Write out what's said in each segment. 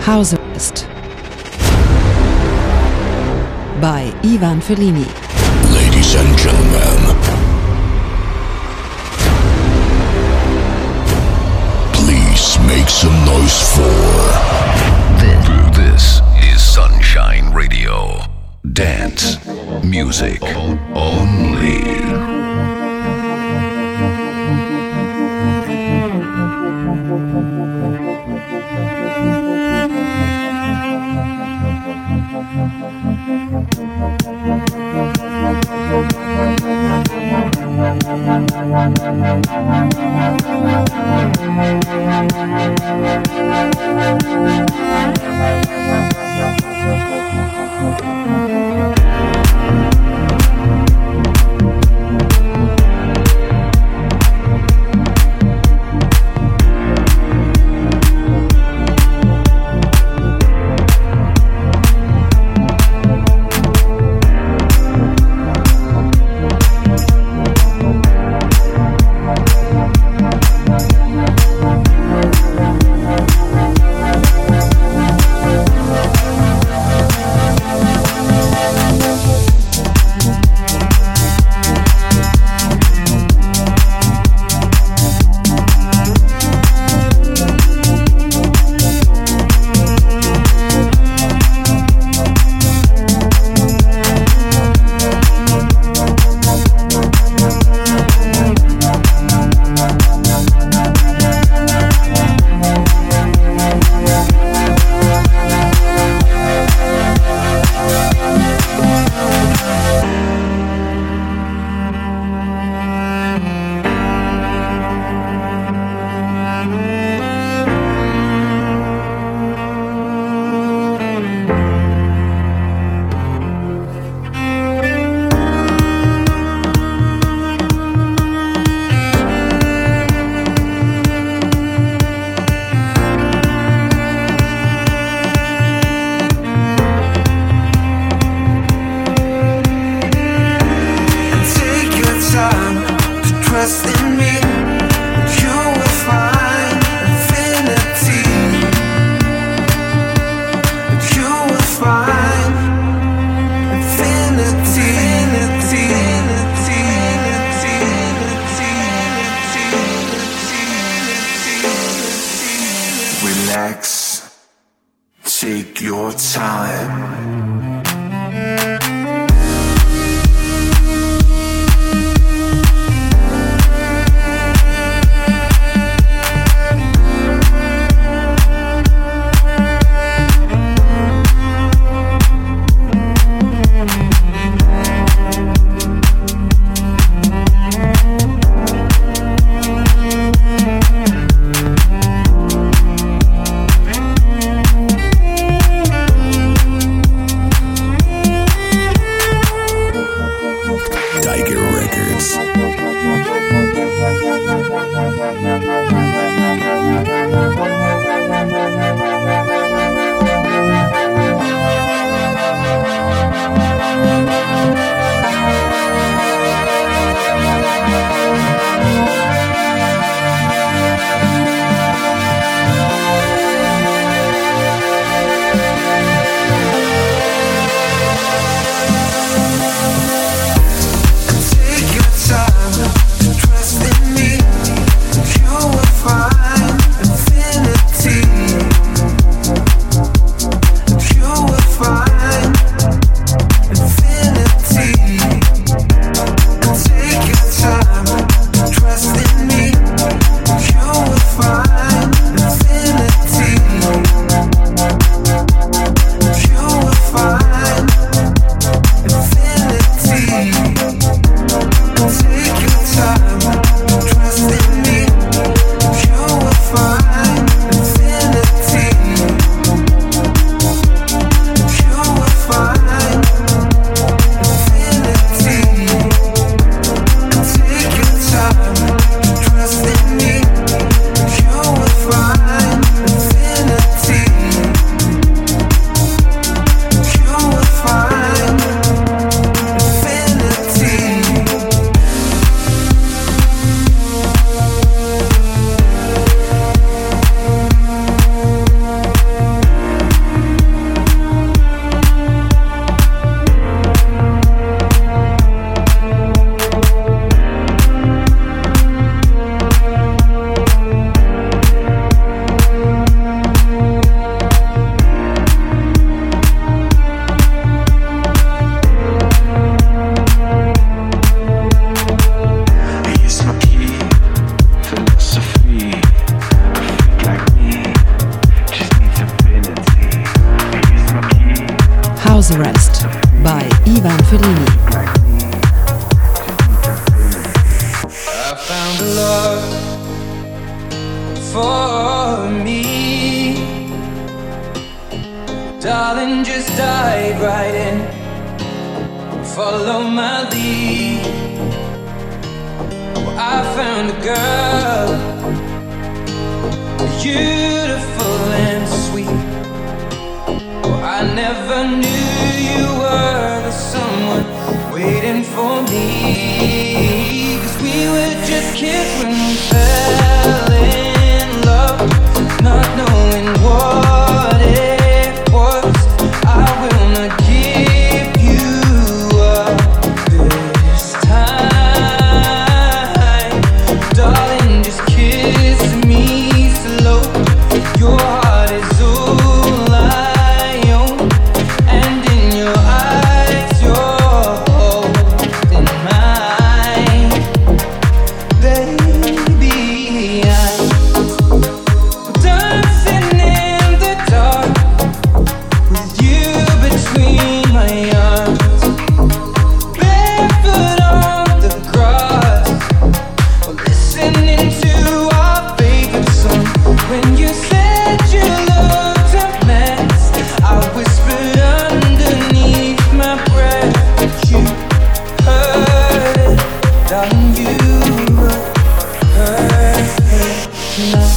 House Arrest by Ivan Fellini. Ladies and gentlemen, please make some noise for this is Sunshine Radio. Dance music only. Take your time. House Arrest by Ivan Fellini. I found a love for me, darling, just dive right in, follow my lead. Well, I found a girl, beautiful and sweet. Well, I never knew you were the someone waiting for me, 'cause we were just kids when we fell in love, not knowing what it was. I will not give you up this time, darling, just kiss me slow. Your heart is all I own, and in your eyes you're holding mine. Baby, I'm dancing in the dark with you between my arms, barefoot on the grass, listening to our favorite song. When you said you looked a mess, I whispered underneath my breath, but you heard it, darling, you heard it now.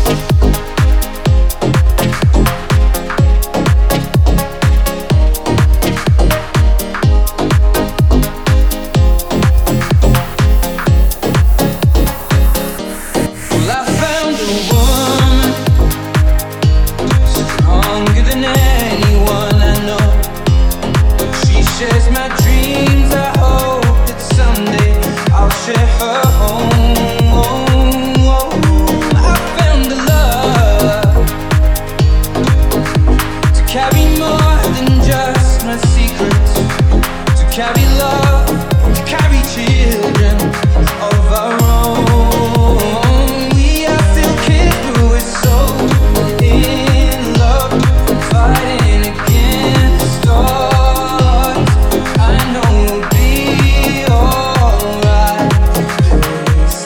Well, I found a woman stronger than anyone I know. She shares my dreams. I hope that someday I'll share her home. I found a love to carry more than just my secrets, to carry love, to carry children of our own. We are still kids, but we're so in love, fighting against odds. I know we'll be alright this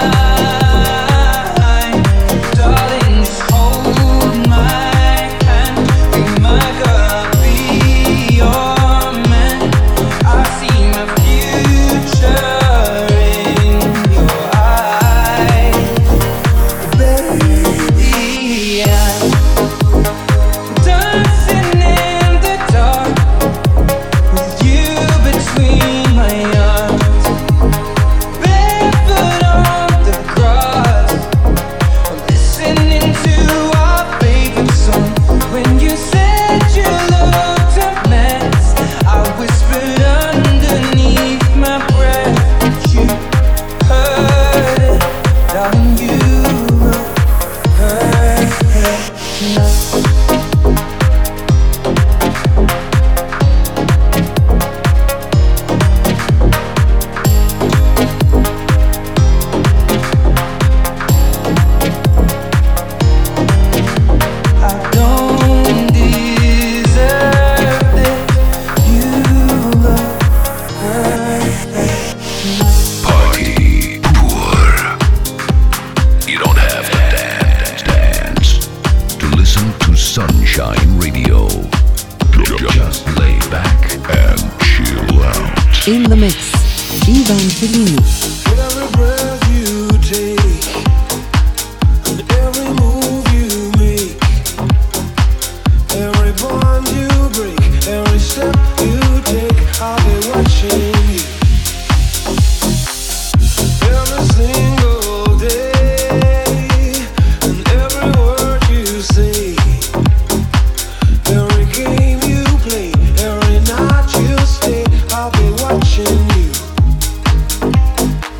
time, darling, just hold my hand. Be my girl, be your man. I see my future in your eyes, baby. I'm dancing in the dark with you between my arms, barefoot on the grass, listening to our favorite song. When you said you looked a mess, I whispered underneath my breath, but you heard it, darling, you heard it now. I don't deserve this. You look perfect. Party poor. You don't have to dance to listen to Sunshine Radio. Just lay back and chill out. In the mix, Ivan Fellini. Every breath you take and every move you make, every bond you break, every step you take, I'll be watching you. Every single day and every word you say, every game you play, every night you stay, I'll be watching you.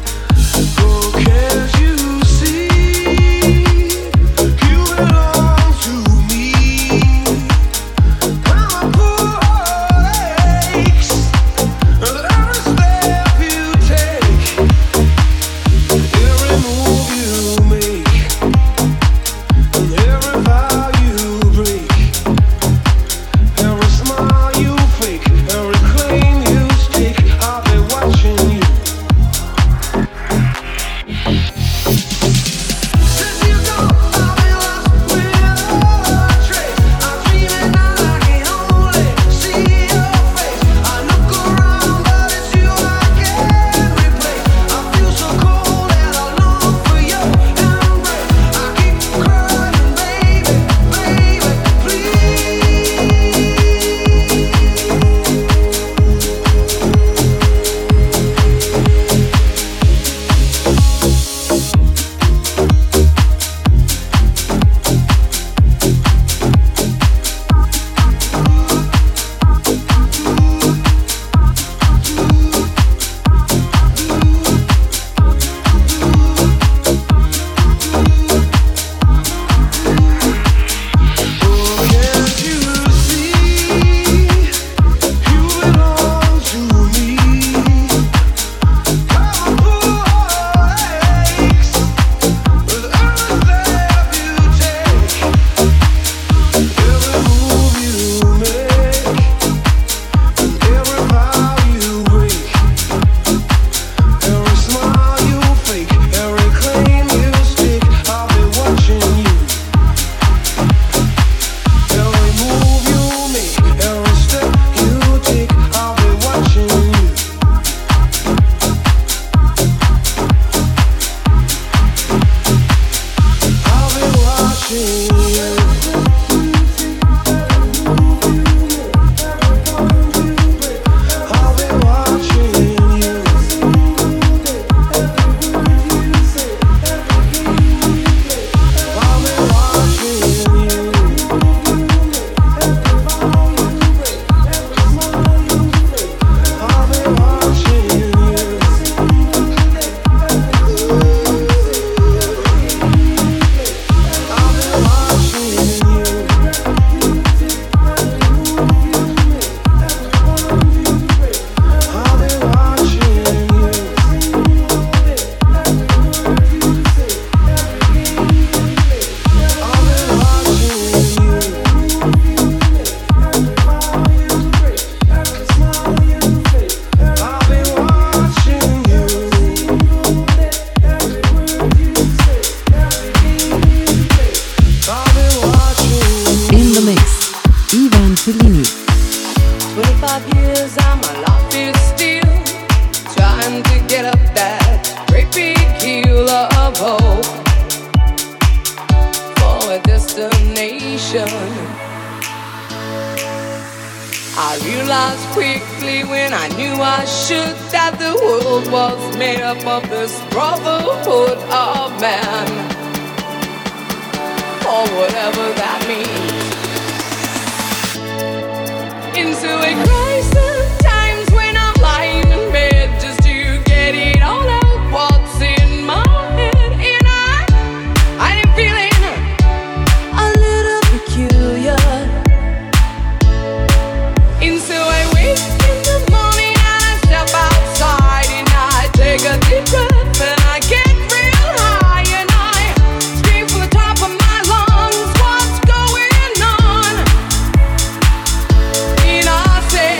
say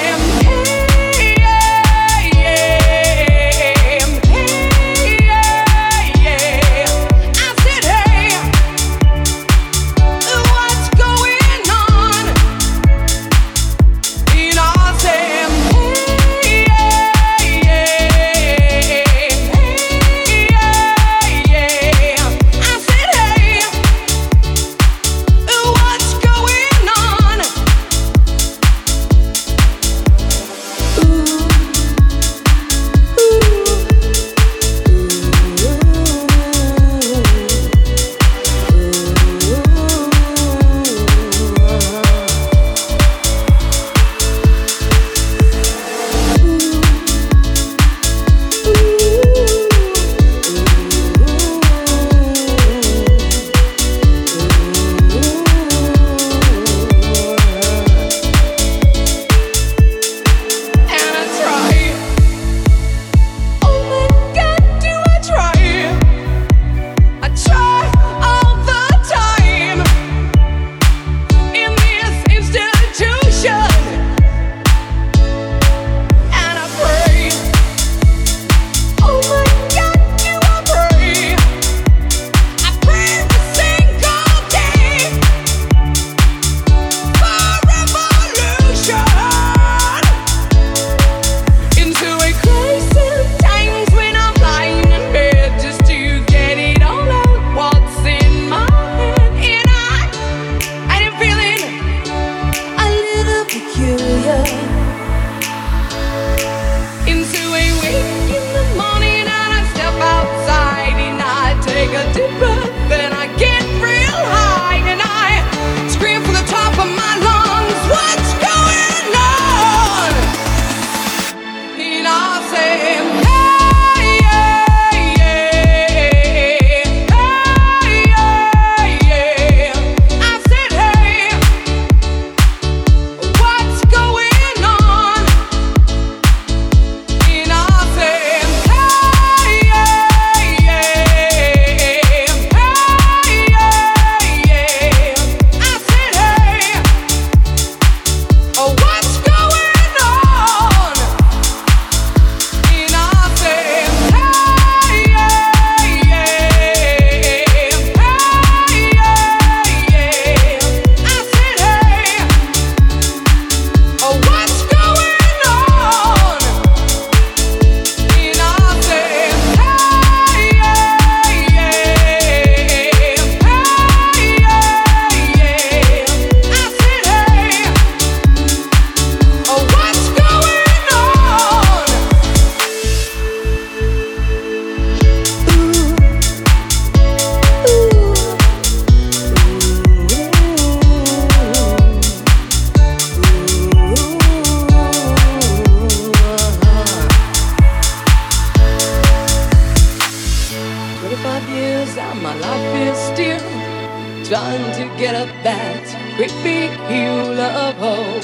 get up that great big hill of hope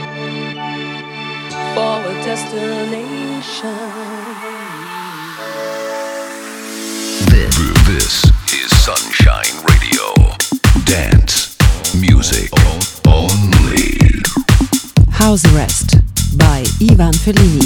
for a destination. This is Sunshine Radio. Dance music only. House Arrest by Ivan Fellini.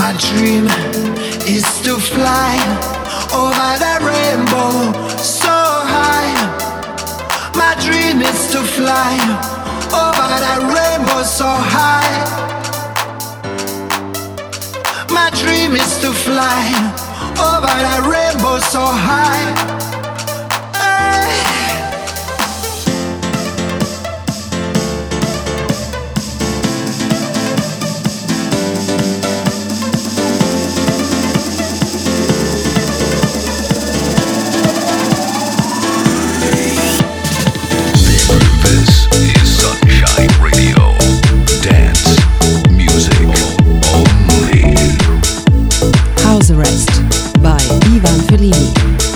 My dream is to fly over the rainbow so high. My dream is to fly over the rainbow so high. My dream is to fly over the rainbow so high. This is Sunshine Radio. Dance music only. House Arrest by Ivan Fellini.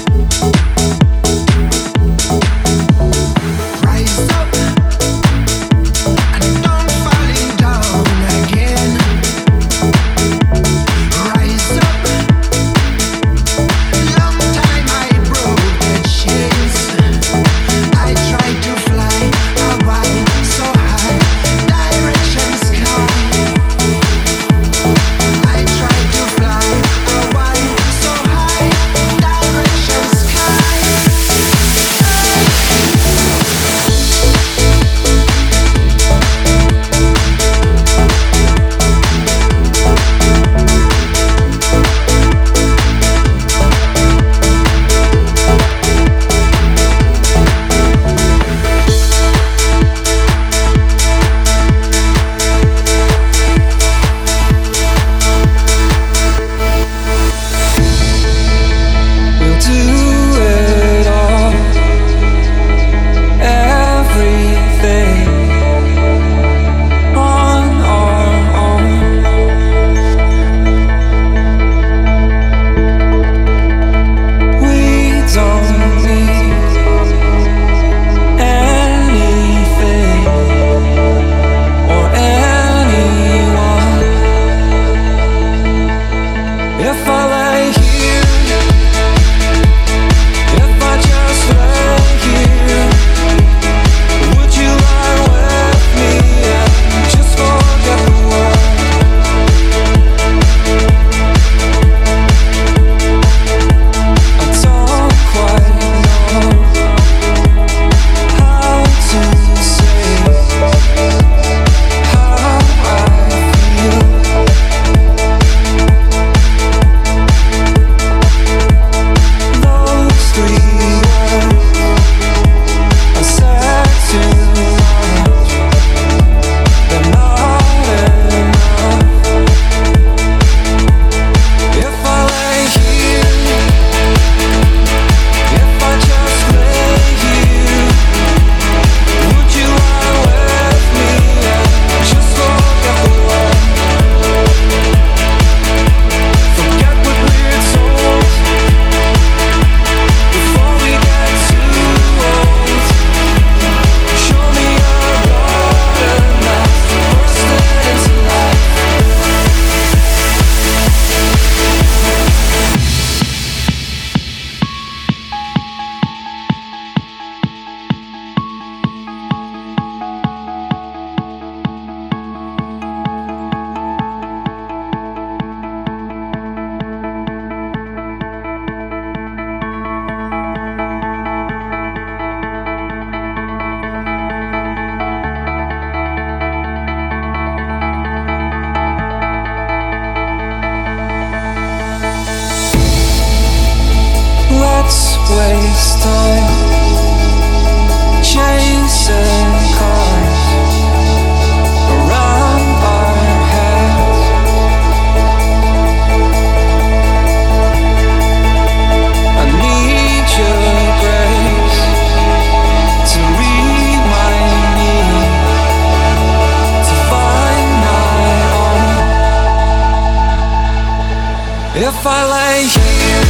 If I lay here,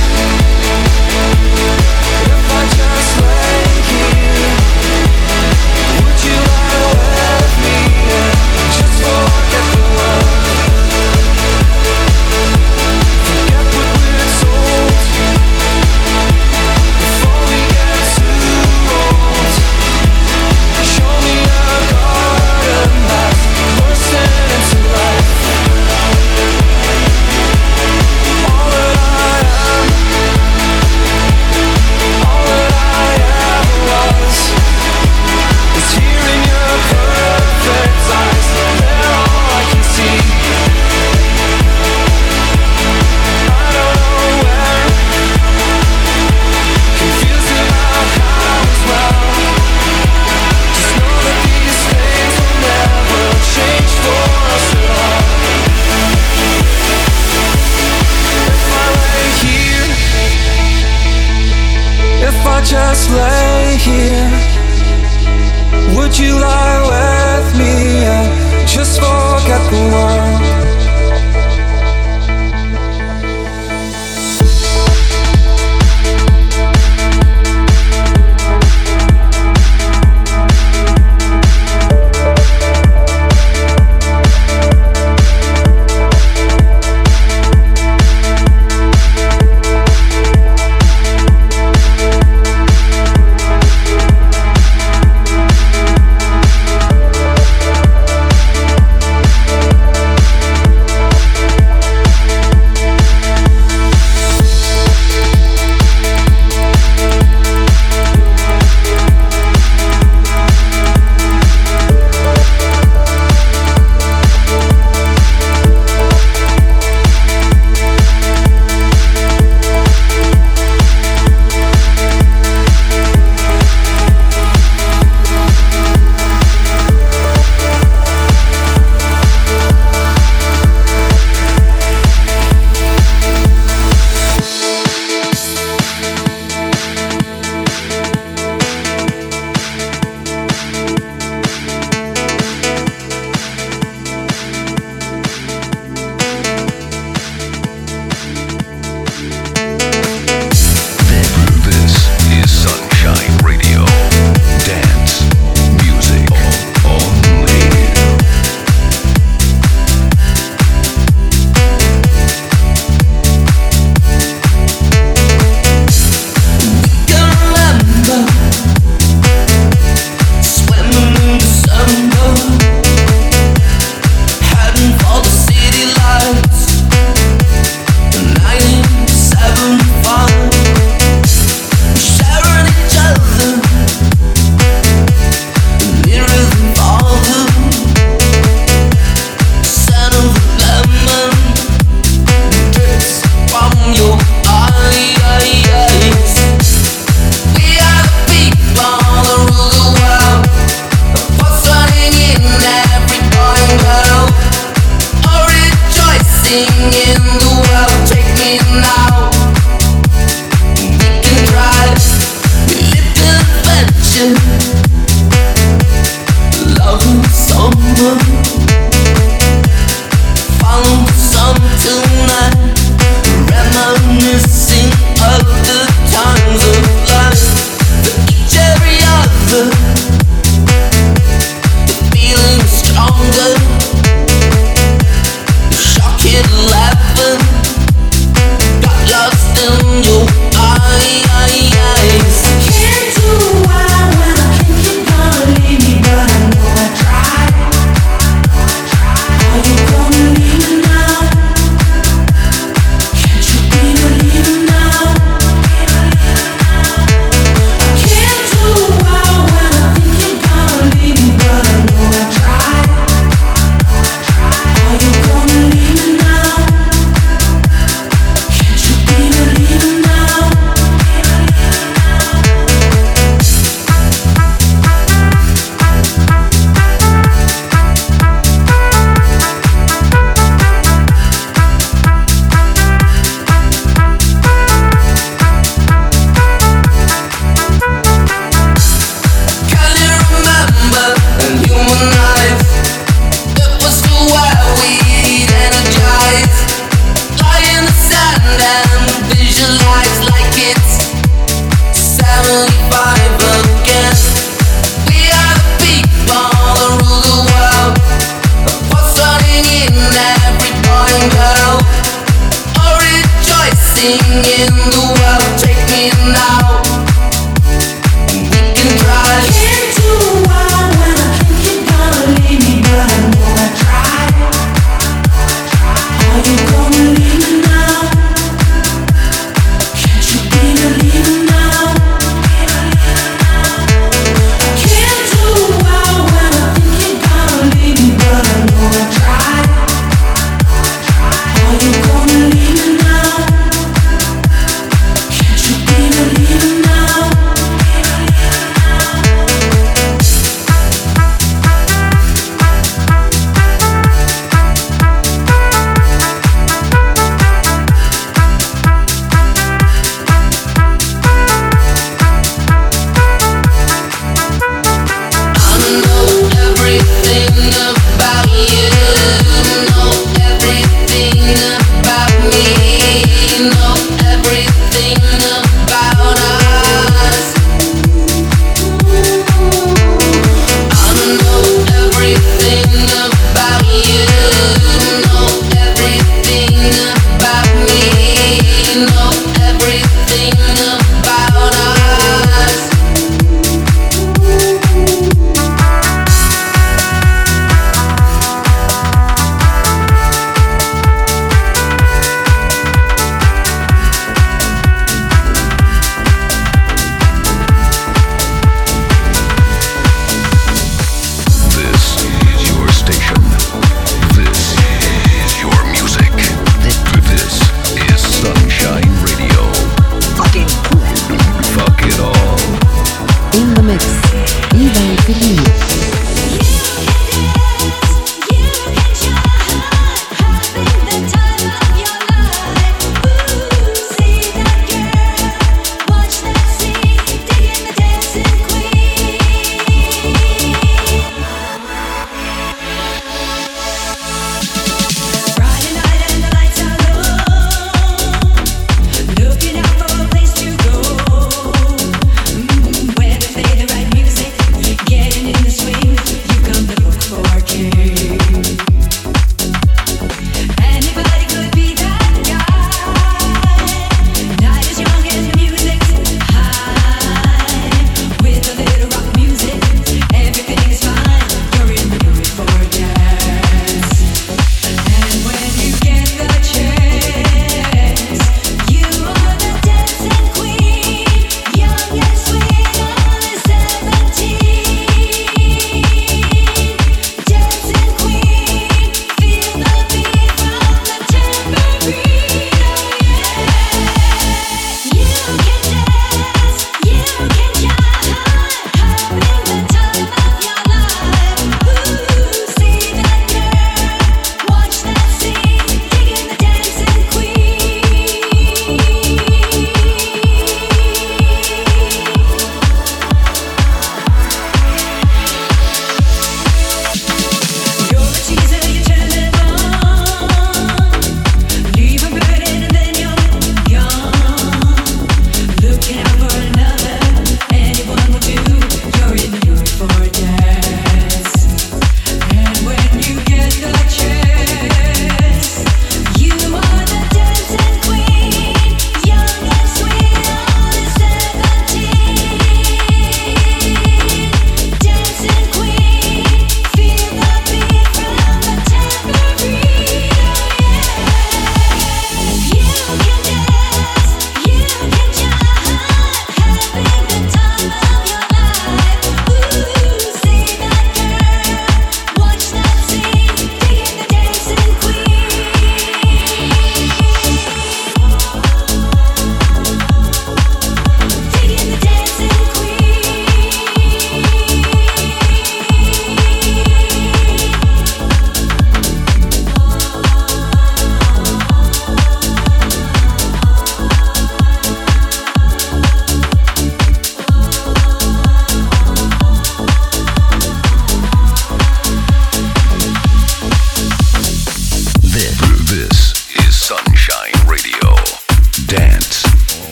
if I just lay here, would you lie with me and just forget the world? Forget what we're told before we get too old. Show me a garden that's bursting into life. just lay here? Would you lie with me and just forget the world?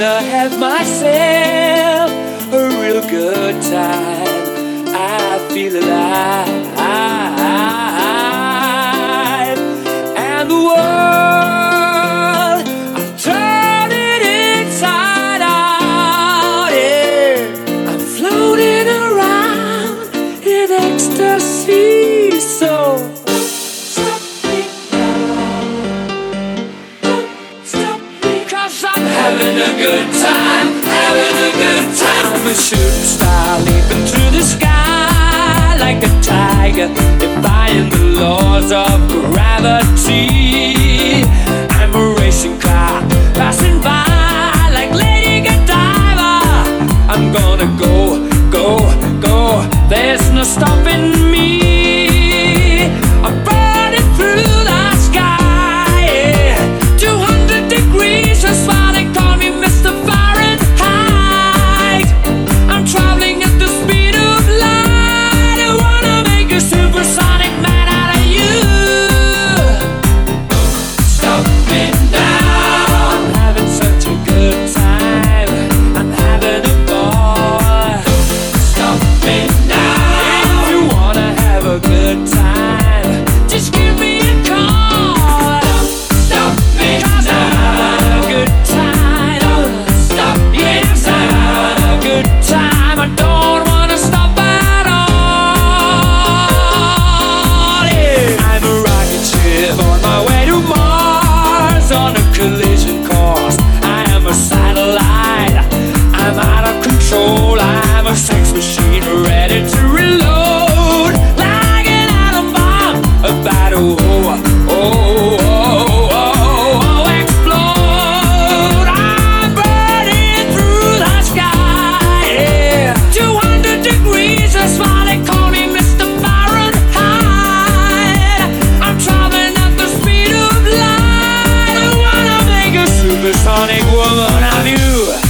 gonna have myself a real good time. I feel alive, and the world, I'm turning inside out. Yeah, I'm floating around in ecstasy. So stop me now, don't stop me, 'cause I'm having a good time, having a good time. I'm a shooting star leaping through the sky like a tiger, defying the laws of gravity. I'm a racing car passing by like Lady Godiva. I'm gonna go, go, go, there's no stopping me. I'm burning through the sky, yeah. 200 degrees, that's why they call me Mr. Fahrenheit. I'm traveling at the speed of light. I wanna make a supersonic man out of you. Stop me now, I'm having such a good time. I'm having a ball. Stop me now, if you wanna have a good time, just give me a call. Stop me now, I'm having a good time. Stop me, yes, I'm having a good time. I don't wanna stop at all. Yeah. I'm a rocket ship on my way to Mars on a collision course. I am a satellite, I'm out of control. I'm a sex machine ready to reload like an atom bomb about to explode. I'm burning through the sky, yeah. 200 degrees, that's why they call me Mr. Fahrenheit. I'm traveling at the speed of light. I wanna make a supersonic woman of you.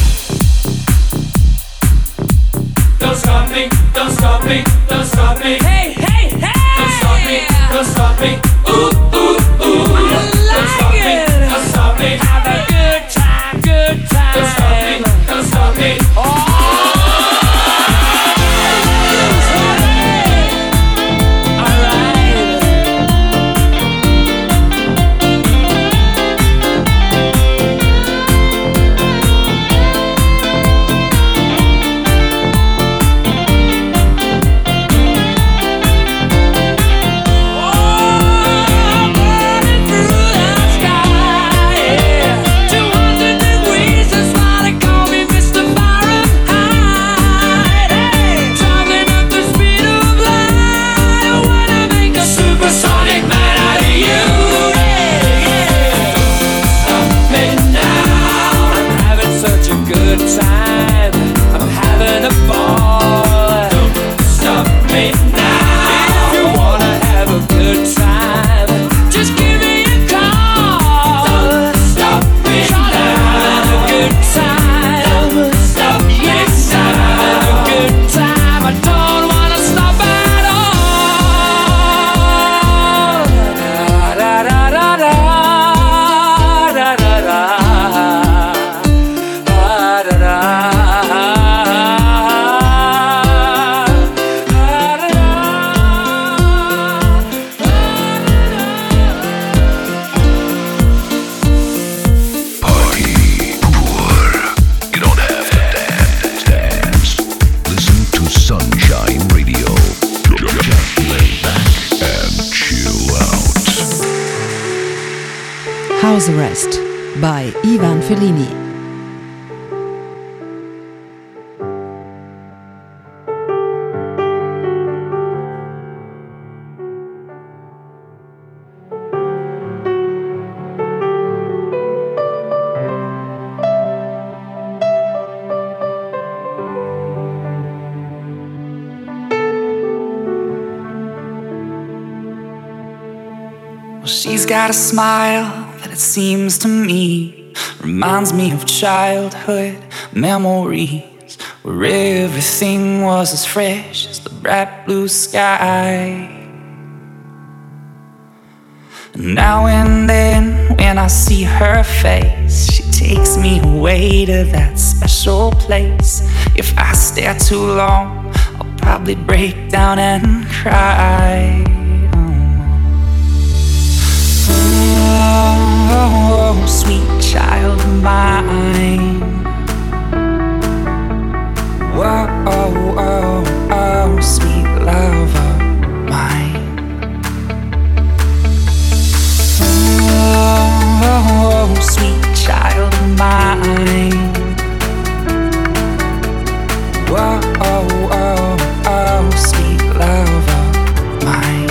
Don't stop me, don't stop me, don't stop me. Hey, hey, hey! Don't stop me, don't stop me. Ooh, ooh, ooh. Don't stop me, don't stop me. Have a good time, good time. Don't stop me, don't stop me. Oh! House Arrest by Ivan Fellini. Well, she's got a smile that it seems to me reminds me of childhood memories where everything was as fresh as the bright blue sky. And now and then when I see her face, she takes me away to that special place. If I stare too long, I'll probably break down and cry. Oh, sweet child of mine. Whoa, oh, oh, oh, sweet love of mine. Oh, sweet child of mine. Whoa, oh, oh, oh, sweet love of mine.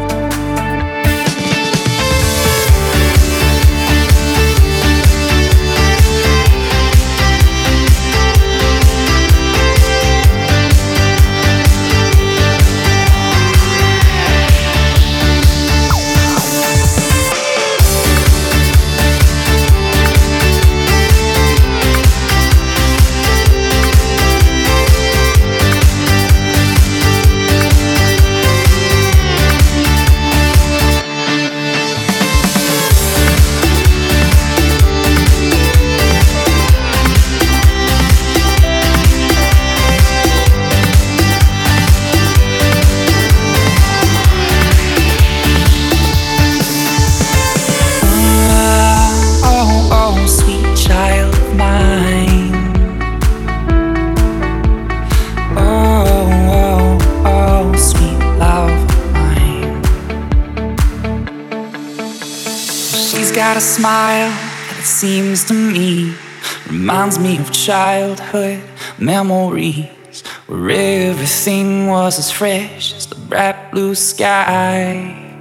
Got a smile that it seems to me reminds me of childhood memories where everything was as fresh as the bright blue sky.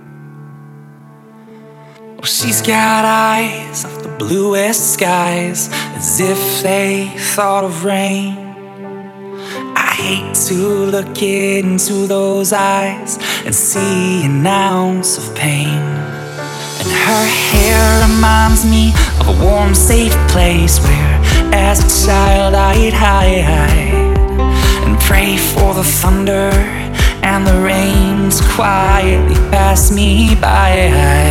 Oh, she's got eyes of the bluest skies, as if they thought of rain. I hate to look into those eyes and see an ounce of pain. And her hair reminds me of a warm, safe place where, as a child, I'd hide and pray for the thunder and the rain to quietly pass me by.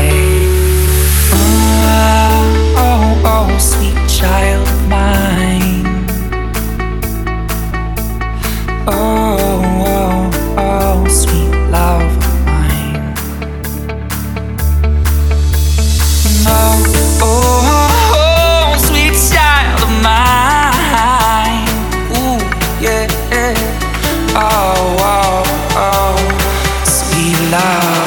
Oh, oh, oh, sweet child of mine. Oh, oh, oh, sweet love. Oh, oh, oh, sweet child of mine. Ooh, yeah. Oh, oh, oh, sweet love.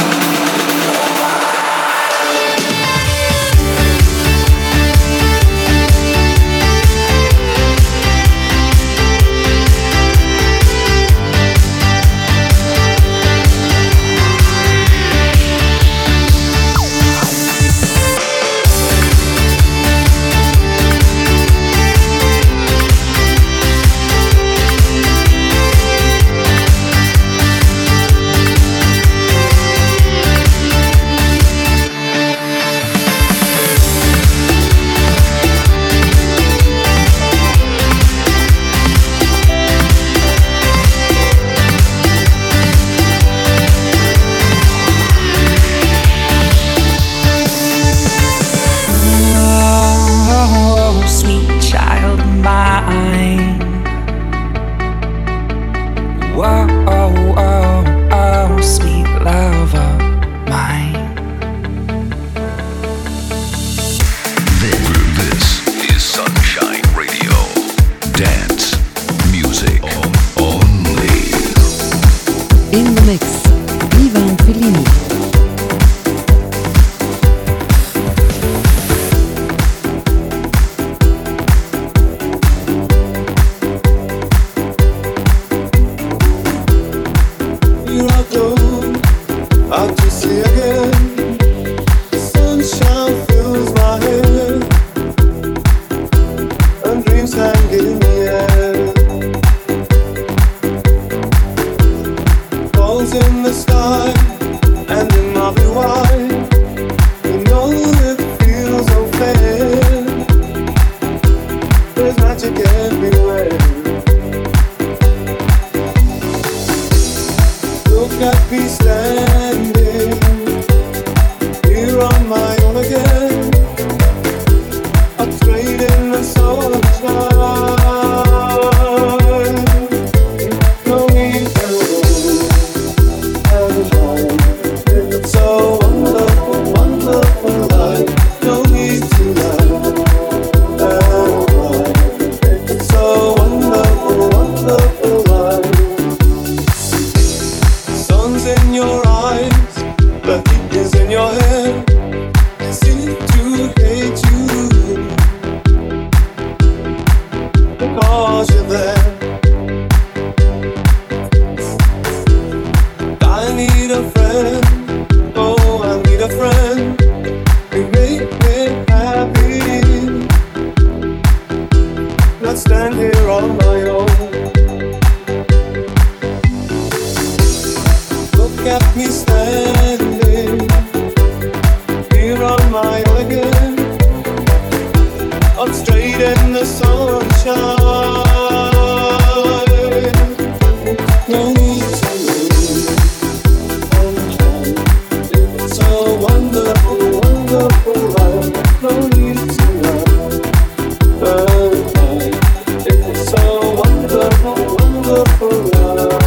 Here on my own again, a train is in your eyes, the heat is in your head. I seem to hate you because you're there. I need a friend, oh, I need a friend. You make me happy. Not stand here on my own. Look at me standing here on my own again. I'm straight in the sunshine. No need to leave. It's a wonderful, wonderful life. No need to run. It's a wonderful, wonderful life.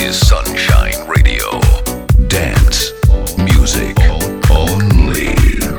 is Sunshine Radio. Dance music only.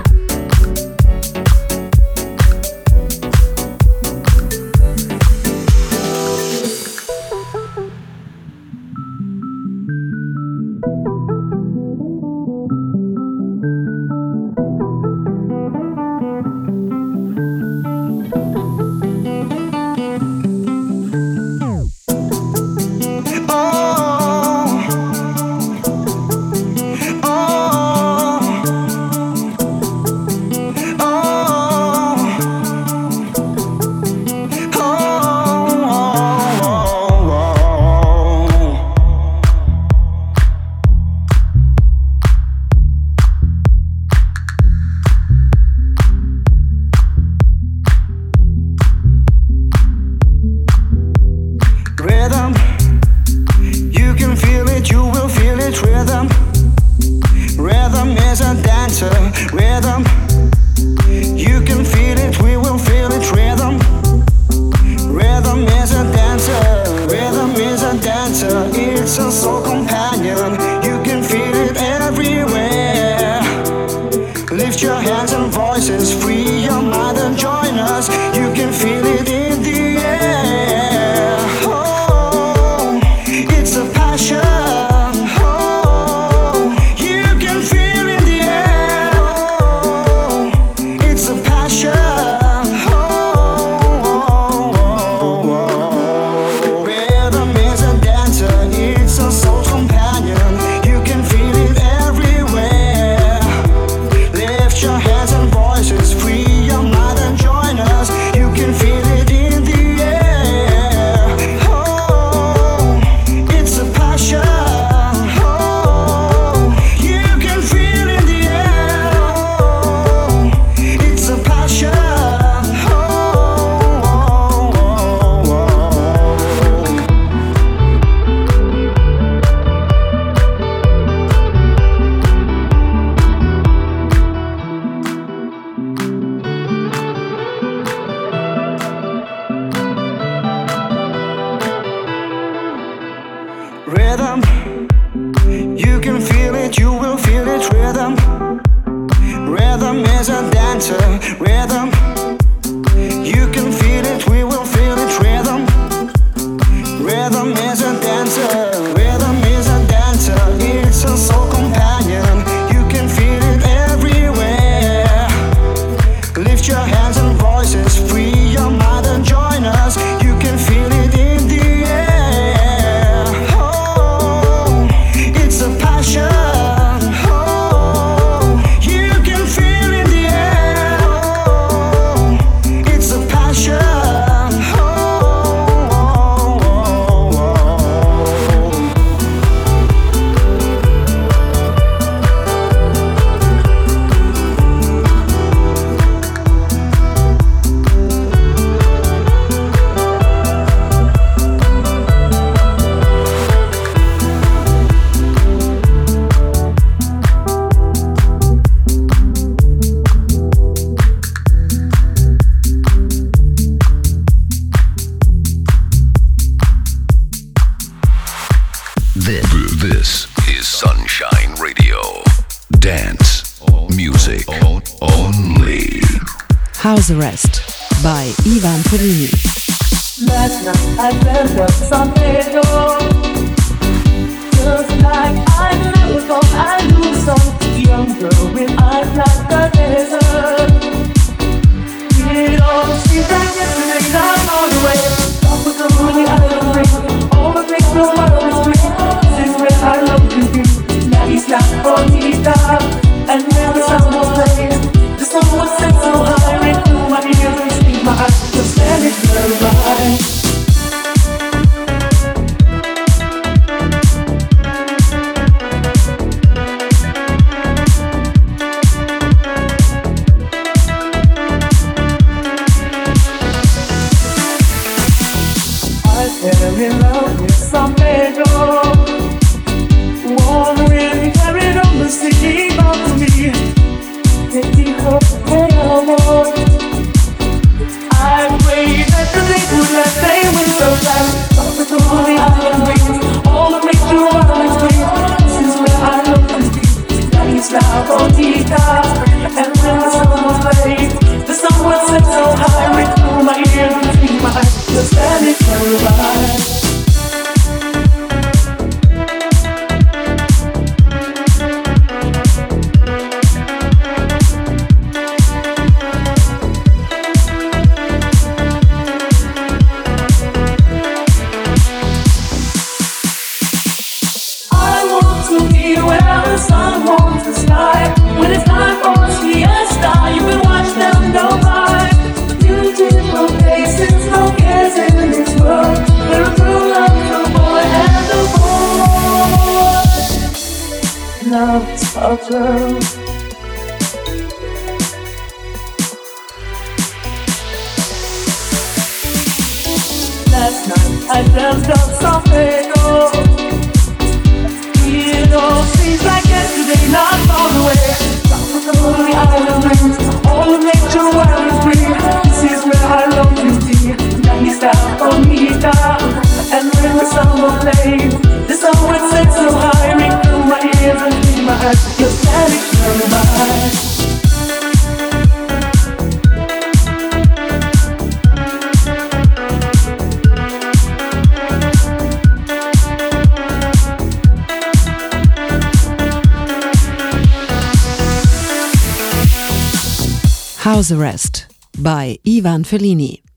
This is Sunshine Radio. Dance music only. House Arrest by Ivan Fellini. Last night I dreamt of something just like I never thought I knew some young girl with eyes like the desert. It all seems like yesterday, I'm on the way. Stop with the money I don't bring. All the things the world is free. This is where I love you be. Now he's not bonita, and now the sound will play. The song was set so high, right through my ears and speak my eyes. Just let it go by. Fell in love with some girl, wondering carried on the city back to me. Taking her home. I prayed that the day would let they win so fast. Stop with the money I am waiting. All the picture girl. Last night I dreamt of something old. It all seems like yesterday, not far away. Tropical island breeze, all of nature wild and free. This is where I long to be. Nagista, bonita, and when the summer plays, the sun would set so high, ring through my ears and in my eyes. You're standing nearby. House Arrest by Ivan Fellini.